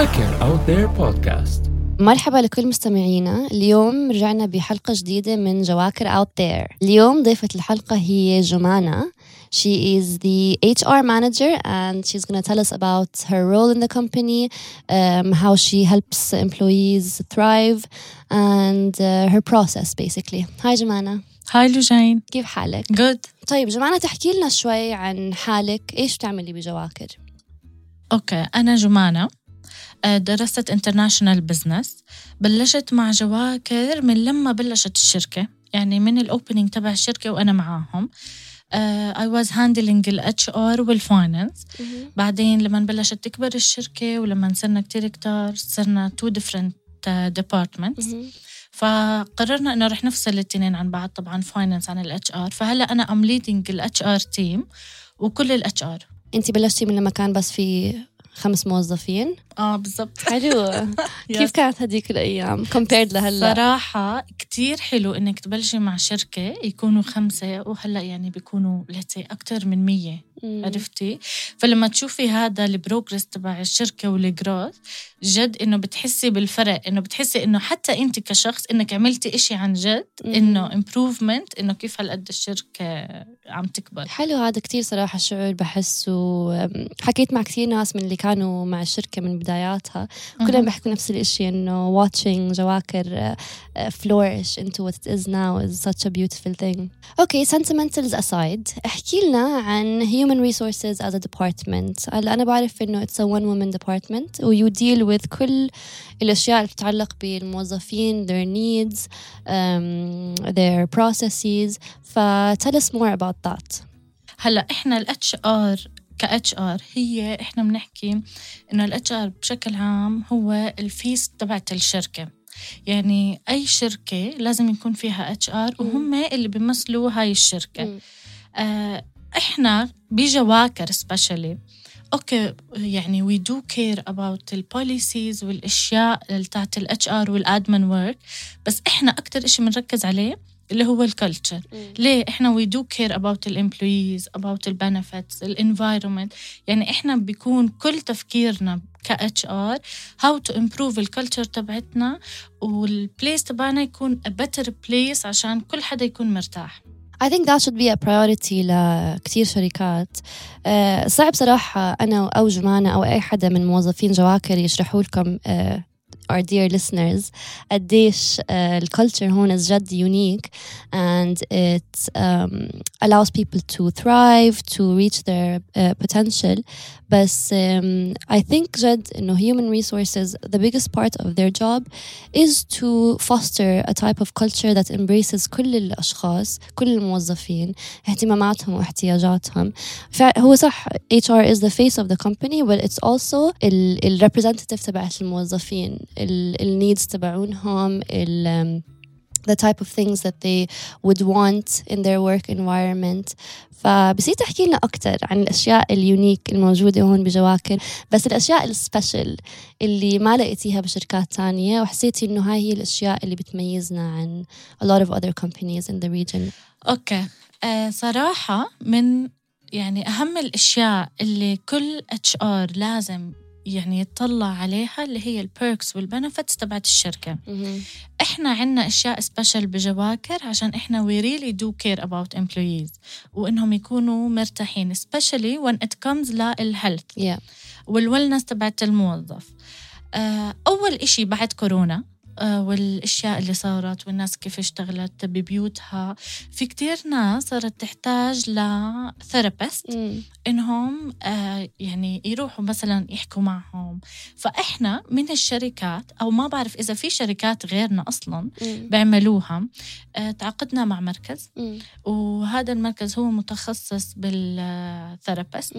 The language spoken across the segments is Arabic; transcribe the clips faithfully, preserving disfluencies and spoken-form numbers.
جواكر Out There Podcast. مرحبا لكل مستمعينا. اليوم رجعنا بحلقة جديدة من جواكر Out There. اليوم ضيفة الحلقة هي جمانة. She is the H R manager and she's going to tell us about her role in the company, um, how she helps employees thrive and uh, her process basically. Hi جمانة. هاي لوجين، كيف حالك؟ good. طيب جمانة، تحكي لنا شوي عن حالك، إيش بتعملي بجواكر؟ أوكي، أنا جمانة، درست international business. بلشت مع جواكر من لما بلشت الشركة، يعني من الأوبنينج تبع الشركة وأنا معاهم. Uh, I was handling ال إتش آر وال finance. بعدين لما بلشت تكبر الشركة ولما صرنا كتير كتار صرنا two different uh, departments. فقررنا إنه رح نفصل الاثنين عن بعض، طبعاً finance عن ال إتش آر. فهلأ أنا I'm leading ال إتش آر team وكل ال إتش آر. أنتي بلشتي من لما كان بس في خمس موظفين؟ آه بالضبط. حلو. كيف كانت هديك الأيام compared لهلا؟ صراحة كتير حلو إنك تبلشي مع شركة يكونوا خمسة وهلأ يعني بيكونوا لتي أكتر من مية. مم. عرفتي؟ فلما تشوفي هذا البروجرس تبع الشركة والجروث جد إنه بتحسي بالفرق، إنه بتحسي إنه حتى أنت كشخص إنك عملتي إشي عن جد. مم. إنه improvement، إنه كيف هالقد الشركة عم تكبر. حلو هذا كتير صراحة الشعور بحس. وحكيت مع كتير ناس من اللي كانوا مع الشركة من بداياتها كلهم بيحكوا نفس الإشي، إنه watching جواكر uh, flourish into what it is now is such a beautiful thing. Okay, sentimentals aside، احكي لنا عن human resources as a department. أنا بعرف إنه it's a one woman department و you deal with كل الأشياء اللي تتعلق بالموظفين، their needs, um, their processes. ف tell us more about that. هلا إحنا ال إتش آر ك إتش آر هي إحنا بنحكي إنه ال إتش آر بشكل عام هو الفيس تبعت الشركة. يعني أي شركة لازم يكون فيها إتش آر وهم اللي بيمثلوا هاي الشركة. آه إحنا بجواكر especially أوكي يعني we do care about the policies والأشياء تاعت ال إتش آر والadmin work، بس إحنا أكتر إشي بنركز عليه اللي هو الكالتشر. ليه؟ إحنا we do care about the employees, about the benefits, the environment. يعني إحنا بيكون كل تفكيرنا ك إتش آر how to improve الكالتشر تبعتنا والبليس تبعنا يكون a better place عشان كل حدا يكون مرتاح. I think that should be a priority لكتير شركات. أه صعب صراحة أنا أو جمانة أو أي حدا من موظفين جواكر يشرحوا لكم أه our dear listeners قديش uh, الculture هون is جد unique and it um, allows people to thrive, to reach their uh, potential. بس um, I think جد إنه human resources, the biggest part of their job is to foster a type of culture that embraces كل الأشخاص، كل الموظفين، اهتماماتهم واحتياجاتهم. فهو صح إتش آر is the face of the company but it's also ال, ال representative تبعت الموظفين، ال needs تبعونهم، ال um, the type of things that they would want in their work environment. فبصير تحكي لنا أكتر عن الأشياء اليونيك الموجودة هون بجواكر، بس الأشياء السبيشل اللي ما لقيتيها بشركات تانية وحسيتي إنه هاي هي الأشياء اللي بتميزنا عن a lot of other companies in the region. أوكي. آه صراحة من يعني أهم الأشياء اللي كل إتش آر لازم يعني يطلع عليها اللي هي البيركس والبنفتس تبعت الشركة. mm-hmm. إحنا عنا أشياء سبيشل بجواكر عشان إحنا we really do care about employees وإنهم يكونوا مرتاحين especially when it comes للهيلث yeah. والwellness تبعت الموظف. أول إشي بعد كورونا والأشياء اللي صارت والناس كيف اشتغلت ببيوتها، في كتير ناس صارت تحتاج لثيرابيست إنهم آه يعني يروحوا مثلا يحكوا معهم. فإحنا من الشركات أو ما بعرف إذا في شركات غيرنا أصلا مم. بيعملوها. آه تعاقدنا مع مركز مم. وهذا المركز هو متخصص بالثيرابيست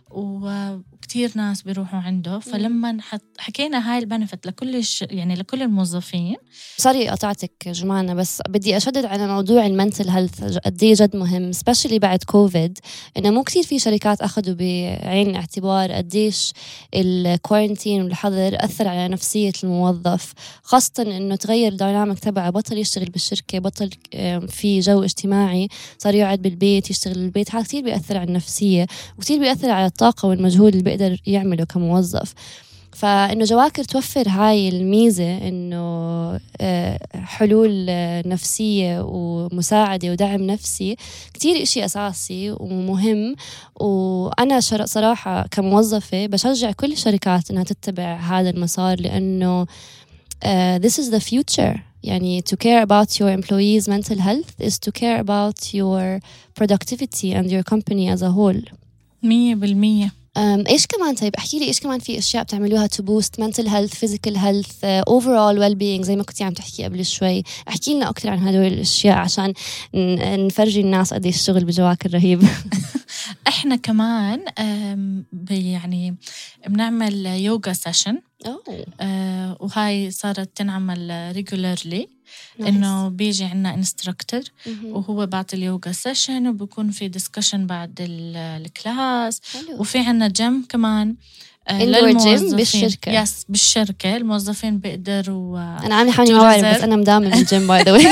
وكتير ناس بيروحوا عنده. فلما حكينا هاي البنفت لكل الش... يعني لكل الموظفين. سوري قطعتك جمانة، بس بدي أشدد على موضوع المنتل هيلث قديه جد مهم especially بعد كوفيد، إنه مو كتير في شركات أخذوا بعين الاعتبار قديش الكورنتين والحظر أثر على نفسية الموظف، خاصة إنه تغير الديناميك تبعه، بطل يشتغل بالشركة، بطل في جو اجتماعي، صار يقعد بالبيت يشتغل بالبيت. هذا كتير بيأثر على النفسية وكتير بيأثر على الطاقة والمجهود اللي بيقدر يعمله كموظف. فإنه جواكر توفر هاي الميزة إنه حلول نفسية ومساعدة ودعم نفسي كتير إشي أساسي ومهم. وأنا صراحة كموظفة بشجع كل الشركات إنها تتبع هذا المسار لأنه Uh, this is the future. يعني to care about your employees' mental health is to care about your productivity and your company as a whole. مية بالمية. um, إيش كمان طيب احكي لي إيش كمان في أشياء بتعملوها to boost mental health, physical health, uh, overall well-being زي ما كنتي عم تحكي قبل شوي. احكي لنا أكتر عن هدول الأشياء عشان نفرجي الناس قد إيش الشغل بجواكر رهيب. احنا كمان يعني بنعمل يوغا سيشن آه وهاي صارت تنعمل ريجولارلي انه بيجي عنا انستراكتور وهو بعد اليوغا سيشن وبكون في ديسكشن بعد الكلاس وفي عنا جيم كمان آه للموظفين بالشركة. يس بالشركة الموظفين بيقدروا آه انا عامله حالي ما بعرف بس انا مدامه بالجيم باي ذا واي.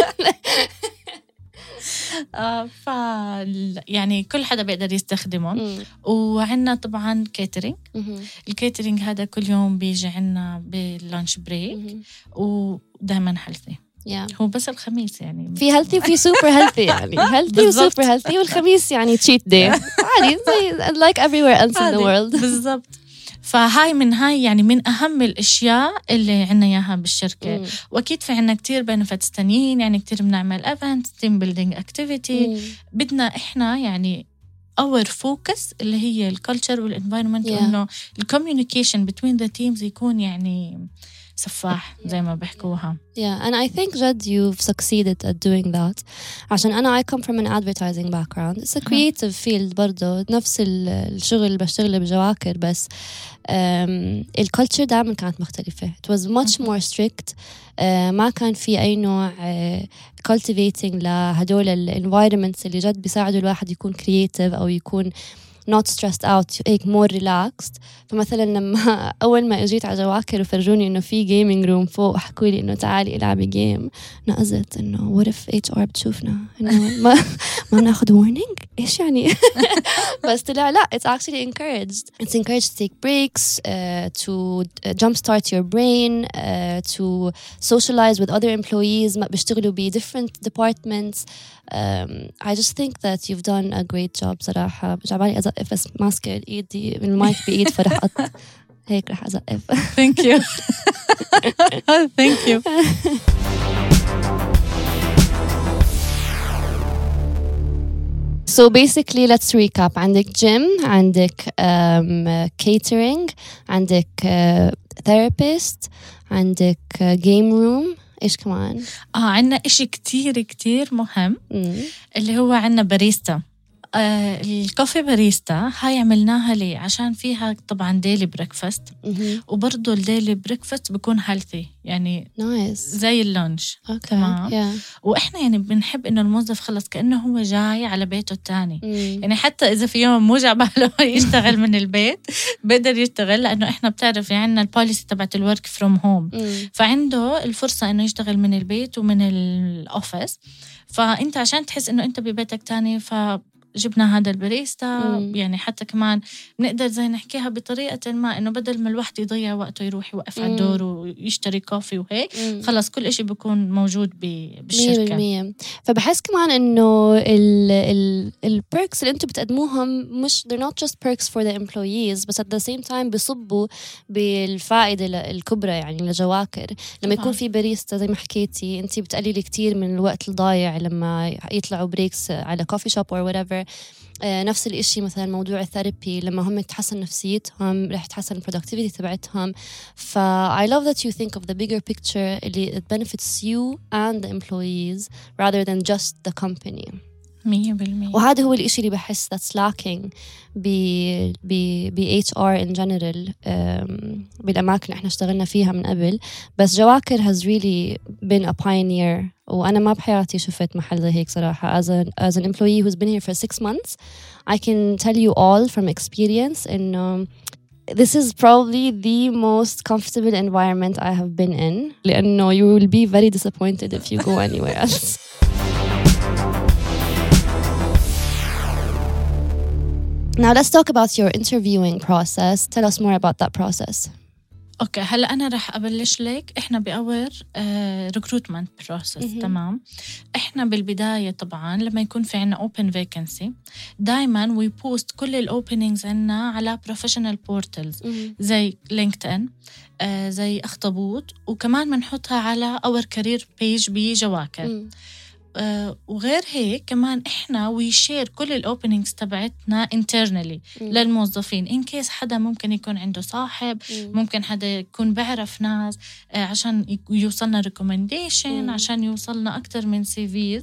آه ف يعني كل حدا بيقدر يستخدمهم. وعنا طبعا كيترينج. الكيترينج هذا كل يوم بيجي عنا باللانش بريك ودائما هيلثي. yeah. هو بس الخميس يعني في هيلثي وفي سوبر هيلثي يعني هيلثي وسوبر هيلثي والخميس يعني تشيت داي عادي زي like everywhere else in the world. بالضبط. فهاي من هاي يعني من أهم الأشياء اللي عنا إياها بالشركة. مم. وأكيد في عنا كتير benefits تانيين يعني كتير بنعمل events team building activity. مم. بدنا إحنا يعني our focus اللي هي الculture والenvironment yeah. وإنه الcommunication between the teams يكون يعني سفاح زي ما بحكوها. Yeah, and I think Jad you've succeeded at doing that. عشان أنا I come from an advertising background. It's a creative field برضو نفس الشغل اللي بشتغله بجواكر بس um, الculture دائما كانت مختلفة. It was much more strict. uh, ما كان في أي نوع uh, cultivating لهدول ال environments اللي جد بيساعدوا الواحد يكون creative أو يكون not stressed out هيك more relaxed. فمثلا لما أول ما أجيت على جواكر وفرجوني إنه في gaming room فوق وحكوا لي إنه تعالي العبي جيم نقزت إنه what if إتش آر بتشوفنا إنه ما ما ناخد warning إيش يعني. بس طلع لا it's actually encouraged it's encouraged to take breaks uh, to jumpstart your brain uh, to socialize with other employees ما بيشتغلوا ب different departments. Um, I just think that you've done a great job صراحة. جعبالي أزقف بس ماسكة إيدي من المايك بإيد فرح أط هيك رح أزقف. Thank you. Thank you. So basically let's recap. عندك gym, عندك um, catering, عندك uh, therapist, عندك uh, game room. إيش كمان؟ آه عنا إشي كتير كتير مهم م. اللي هو عنا باريستا. آه الكوفي باريستا هاي عملناها ليه؟ عشان فيها طبعا ديلي بريكفاست وبرضو الديلي بريكفاست بيكون هيلثي يعني nice. زي اللانش. okay. تمام. yeah. وإحنا يعني بنحب إنه الموظف خلص كأنه هو جاي على بيته التاني. مم. يعني حتى إذا في يوم موجع باله يشتغل من البيت بقدر يشتغل لأنه إحنا بتعرف يعني البوليسي تبعت الورك فروم هوم فعنده الفرصة إنه يشتغل من البيت ومن الأوفيس. فأنت عشان تحس إنه أنت ببيتك تاني ف جبنا هذا الباريستا. مم. يعني حتى كمان نقدر زي نحكيها بطريقة ما إنه بدل ما الواحد يضيع وقته يروح يوقف على الدور ويشتري كوفي وهيك مم. خلاص كل إشي بيكون موجود بالشركة. مية بالمية. فبحس كمان إنه ال ال البيركس اللي أنتوا بتقدموهم مش they're not just perks for the employees بس at the same time بيصبوا بالفائدة الكبرى يعني لجواكر. لما يكون في باريستا زي ما حكيتي أنتي بتقللي كتير من الوقت الضايع لما يطلعوا بريكس على coffee shop or whatever. آه نفس الإشي مثلا موضوع الثيرابي لما هم تحسن نفسيتهم رح تحسن البرودكتيفيتي تبعتهم. ف I love that you think of the bigger picture اللي it benefits you and the employees rather than just the company. مية بالمية. وهذا هو الإشي اللي بحس that's lacking ب ب ب إتش آر in general بالأماكن اللي إحنا اشتغلنا فيها من قبل. بس جواكر has really been a pioneer وأنا ما بحياتي شفت محل زي هيك صراحة. as, a, as an employee who's been here for six months I can tell you all from experience إنه this is probably the most comfortable environment I have been in لأنه you will be very disappointed if you go anywhere else. Now let's talk about your interviewing process. Tell us more about that process. اوكي هلا انا رح ابلش لك. احنا باور ريكروتمنت بروسس. تمام. احنا بالبدايه طبعا لما يكون في عنا اوبن فيكنسي دائما وي بوست كل الاوبننجز عنا على بروفيشنال بورتالز زي لينكدين، آه زي اخطبوط، وكمان بنحطها على اور كارير بيج بجواكر. آه وغير هيك كمان احنا ويشير كل الاوبننجز تبعتنا انترنالي للموظفين ان كيس حدا ممكن يكون عنده صاحب، مم. ممكن حدا يكون بعرف ناس، آه عشان يوصلنا ريكومنديشن، عشان يوصلنا اكتر من سي في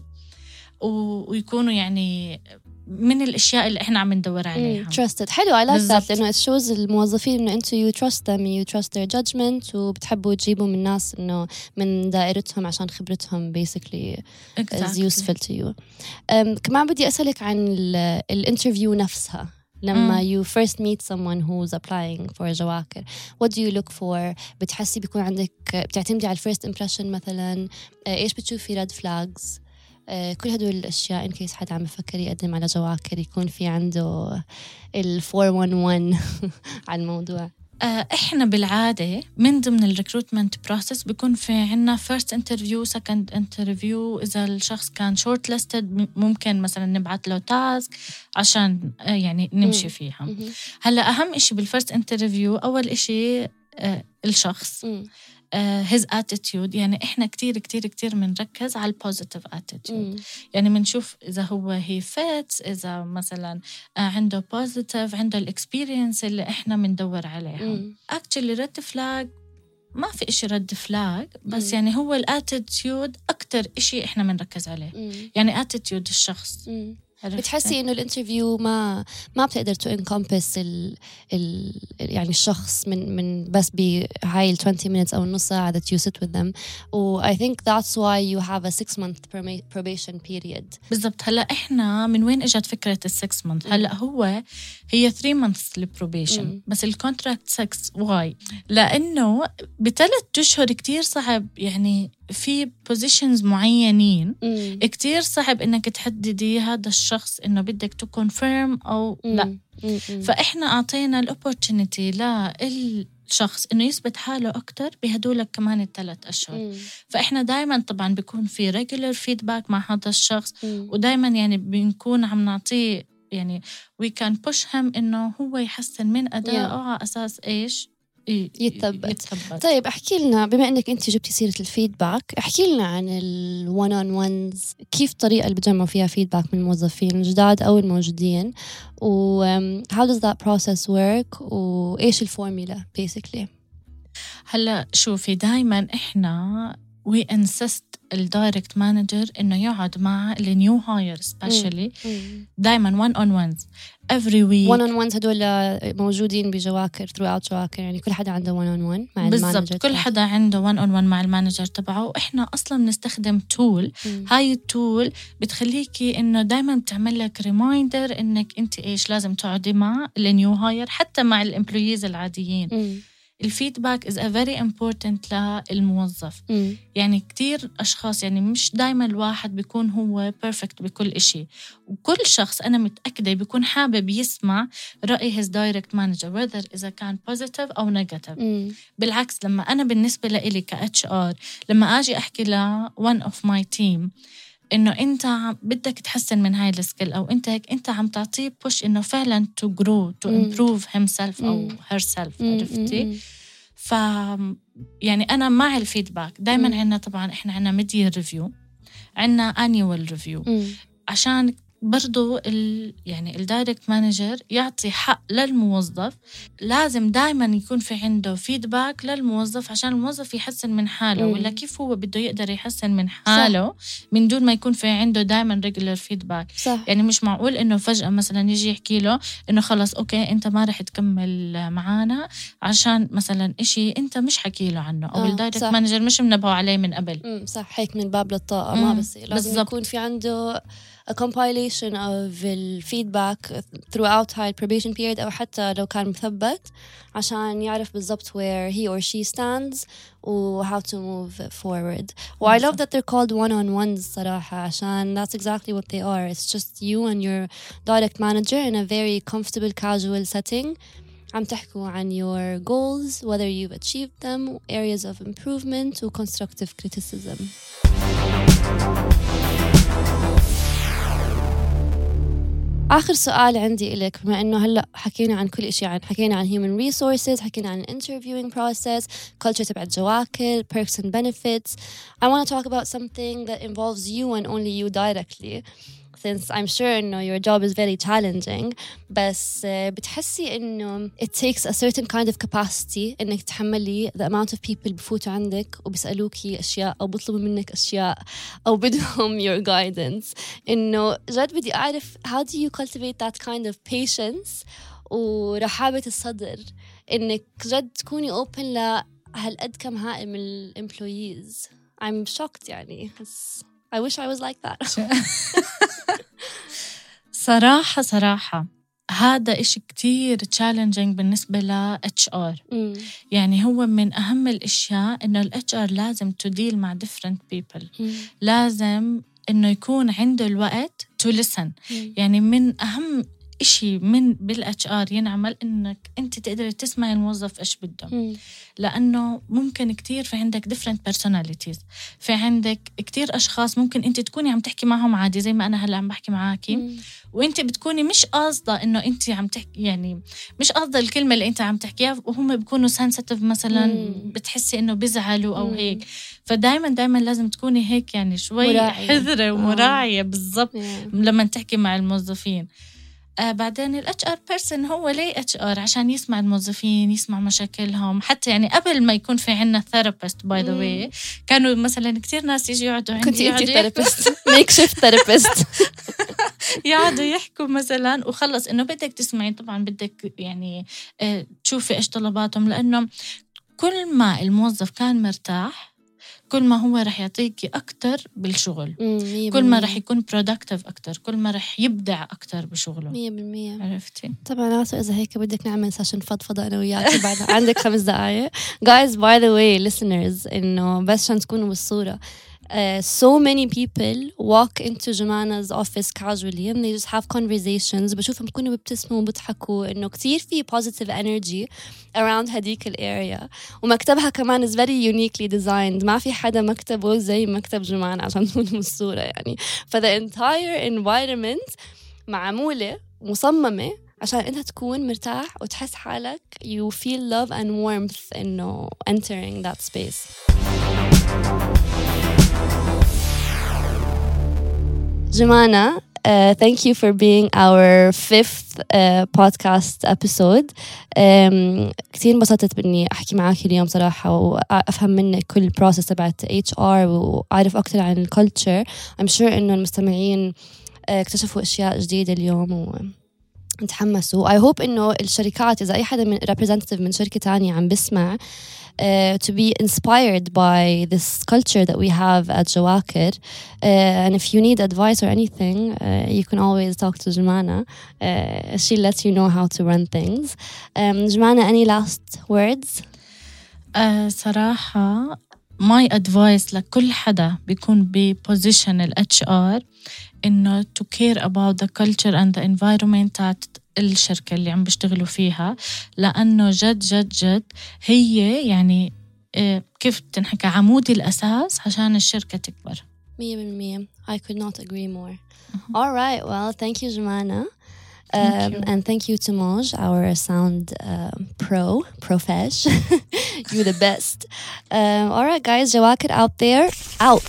ويكونوا يعني من الاشياء اللي احنا عم ندور عليها. trusted. حلو. I like that لانه it shows الموظفين انه انتوا you trust them, you trust their judgment وبتحبوا تجيبوا من الناس انه من دائرتهم عشان خبرتهم basically exactly. is useful to you. um, كمان بدي اسالك عن الانترفيو نفسها. لما mm. you first meet someone who's applying for جواكر, what do you look for? بتحسي بيكون عندك بتعتمدي على first impression مثلا؟ ايش بتشوفي red flags؟ كل هدول الأشياء إن كيس حد عم يفكر يقدم على جواكر يكون في عنده ال four one one على الموضوع. إحنا بالعادة من ضمن الريكروتمنت بروسس بيكون في عنا first interview second interview. إذا الشخص كان short listed ممكن مثلا نبعت له تاسك عشان يعني نمشي فيها. هلأ أهم إشي بالفirst interview أول إشي الشخص Uh, his attitude. يعني إحنا كتير كتير كتير منركز على positive attitude. mm. يعني منشوف إذا هو he fits، إذا مثلا uh, عنده positive، عنده الexperience اللي إحنا مندور عليها. mm. actually red flag ما في إشي red flag، بس mm. يعني هو الاتيتيود أكتر إشي إحنا منركز عليه. mm. يعني attitude الشخص. mm. بتحسي إنه الانترفيو ما ما بتقدر to encompass ال ال يعني الشخص من من بس بهاي ال twenty minutes أو النص ساعة that you sit with them. و I think that's why you have a six month probation period. بالضبط. هلا إحنا من وين إجت فكرة ال six month؟ هلا هو هي three months للبروبيشن، بس الكونتراكت six. why؟ لأنه بثلاث أشهر كتير صعب يعني في بوزيشنز معينين مم. كتير صعب إنك تحددي هذا الشخص إنه بدك تكونفيرم أو مم. لا. مم. فإحنا أعطينا الأوبورتونيتي للشخص إنه يثبت حاله أكتر بهدولك كمان الثلاث أشهر. مم. فإحنا دايما طبعا بيكون في regular feedback مع هذا الشخص، مم. ودايما يعني بنكون عم نعطيه يعني we can push him إنه هو يحسن من أدائه yeah. على أساس إيش يتثبت. يتثبت. طيب احكي لنا، بما انك انت جبتي سيره الفيدباك، احكي لنا عن الون اون وانز، كيف الطريقه اللي بتجمعوا فيها فيدباك من الموظفين الجداد او الموجودين، و how does that process work، وايش الفورمولا basically؟ هلا شوفي دائما احنا we insist الدايركت مانجر إنه يقعد مع النيو هاير سبيشالي دايما one on ones every week. one on ones هدول موجودين بجواكر throughout جواكر، يعني كل حدا عنده one on one مع المانجر. بالضبط، كل حدا عنده one on one مع المانجر تبعه. وإحنا أصلا بنستخدم تول، هاي التول بتخليكي إنه دايما بتعمل لك ريمايندر إنك أنت إيش لازم تقعدي مع النيو هاير، حتى مع الامبلويز العاديين. م. الفيدباك is a very important للموظف. م. يعني كتير أشخاص، يعني مش دايما الواحد بيكون هو perfect بكل إشي، وكل شخص أنا متأكدة بيكون حابب يسمع رأي his direct manager whether إذا كان positive أو negative. م. بالعكس لما أنا بالنسبة لإلي ك إتش آر لما أجي أحكي ل one of my team إنه أنت بدك تحسن من هاي السكيل، أو أنت هيك أنت عم تعطيه push إنه فعلا to grow to improve himself أو herself. عرفتي؟ ف يعني أنا مع الفيدباك دايما. عنا طبعا إحنا عنا mid-year review، عنا annual review، عشان برضو ال يعني الدايركت مانجر يعطي حق للموظف. لازم دايما يكون في عنده فيدباك للموظف عشان الموظف يحسن من حاله. مم. ولا كيف هو بده يقدر يحسن من حاله صح. من دون ما يكون في عنده دايما ريجولر فيدباك. يعني مش معقول انه فجأة مثلا يجي يحكي له انه خلص اوكي انت ما رح تكمل معانا عشان مثلا اشي انت مش حكي له عنه، او الدايركت مانجر مش منبهه عليه من قبل. مم. صح، هيك من باب للطاقة ما بس لازم بالزبط. يكون في عنده a compilation of the feedback throughout high probation period، أو حتى لو كان مثبت عشان يعرف بالضبط where he or she stands و how to move forward. و I love that they're called one-on-ones صراحة، عشان that's exactly what they are. It's just you and your direct manager in a very comfortable casual setting عم تحكوا عن your goals, whether you've achieved them, areas of improvement و constructive criticism. آخر سؤال عندي إليك، بما إنه هلأ حكينا عن كل إشي، عن حكينا عن human resources، حكينا عن interviewing process, culture تبع جواكر, perks and benefits. I want to talk about something that involves you and only you directly, since I'm sure إنه your job is very challenging. بس uh, بتحسي إنه it takes a certain kind of capacity إنك تحملي the amount of people بفوتوا عندك وبيسألوكي أشياء أو بيطلبوا منك أشياء أو بدهم your guidance. إنه جد بدي أعرف how do you cultivate that kind of patience ورحابة الصدر إنك جد تكوني open لهالقد كم هائل من ال employees. I'm shocked يعني. I wish I was like that. صراحة صراحة هذا إشي كتير challenging بالنسبة ل إتش آر. mm. يعني هو من أهم الأشياء إنه ال إتش آر لازم to deal مع different people. mm. لازم إنه يكون عنده الوقت to listen. mm. يعني من أهم إشي من بالإتش آر ينعمل إنك أنت تقدر تسمع الموظف إيش بده. mm. لأنه ممكن كتير في عندك different personalities، في عندك كتير أشخاص ممكن أنت تكوني عم تحكي معهم عادي زي ما أنا هلأ عم بحكي معاكي، mm. وأنت بتكوني مش قاصدة إنه أنت عم تحكي، يعني مش قاصدة الكلمة اللي أنت عم تحكيها، وهم بيكونوا sensitive مثلا mm. بتحسي إنه بيزعلوا أو mm. هيك. فدايما دايما لازم تكوني هيك يعني شوي مراعية. حذرة ومراعية oh. بالضبط yeah. لما تحكي مع الموظفين. آه بعدين ال إتش آر person هو ليه إتش آر؟ عشان يسمع الموظفين، يسمع مشاكلهم. حتى يعني قبل ما يكون في عنا therapist by the way كانوا مثلا كتير ناس يجي يقعدوا عندي. كنت انتي therapist makeshift therapist يقعدوا يحكوا مثلا وخلص إنه بدك تسمعي، طبعا بدك يعني آه تشوفي إيش طلباتهم، لأنه كل ما الموظف كان مرتاح كل ما هو رح يعطيكي أكتر بالشغل، كل ما رح يكون productive أكتر، كل ما رح يبدع أكتر بشغله. مية بالمية. عرفتي؟ طبعا عاصر إذا هيك بدك نعمل سيشن فضفضة أنا وياك بعد عندك خمس دقايق. Guys by the way listeners إنه بس عشان تكونوا بالصورة Uh, so many people walk into Jumana's office casually and they just have conversations. بشوفهم بيكونوا بيبتسموا وبيضحكوا إنه كتير في positive energy around هديك الاريا. ومكتبها كمان is very uniquely designed. ما في حدا مكتبه زي مكتب جمانة عشان تكونوا بالصورة يعني. ف the entire environment معمولة مصممة عشان أنت تكون مرتاح وتحس حالك you feel love and warmth إنه entering that space. Jumana, uh, thank you for being our fifth uh, podcast episode. Um, كتير انبسطت بإني أحكي معاك اليوم صراحة وأفهم منك كل البروسيس تبعت إتش آر وأعرف أكتر عن الكولتشر. I'm sure إنه المستمعين uh, اكتشفوا أشياء جديدة اليوم ونتحمسوا. I hope إنه الشركات إذا أي حدا من representative من شركة تانية عم بسمع Uh, to be inspired by this culture that we have at Jawakir. Uh, and if you need advice or anything, uh, you can always talk to Jumana. Uh, she'll let you know how to run things. Um, Jumana, any last words? uh, صراحة my advice لكل حدا بيكون بposition ال إتش آر إنه to care about the culture and the environment تاعت الشركة اللي عم بيشتغلوا فيها، لأنه جد جد جد هي يعني كيف تنحكى عمود الأساس عشان الشركة تكبر. مية بالمية. I could not agree more. Mm-hmm. All right, well, thank you, Jumana. Thank um, you. And thank you to Moj, our sound uh, pro, profesh. You're the best. Um, all right, guys, Jawakir out there, out.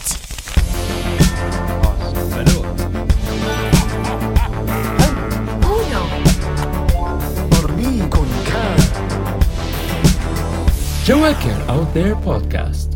Jawakir Out There Podcast.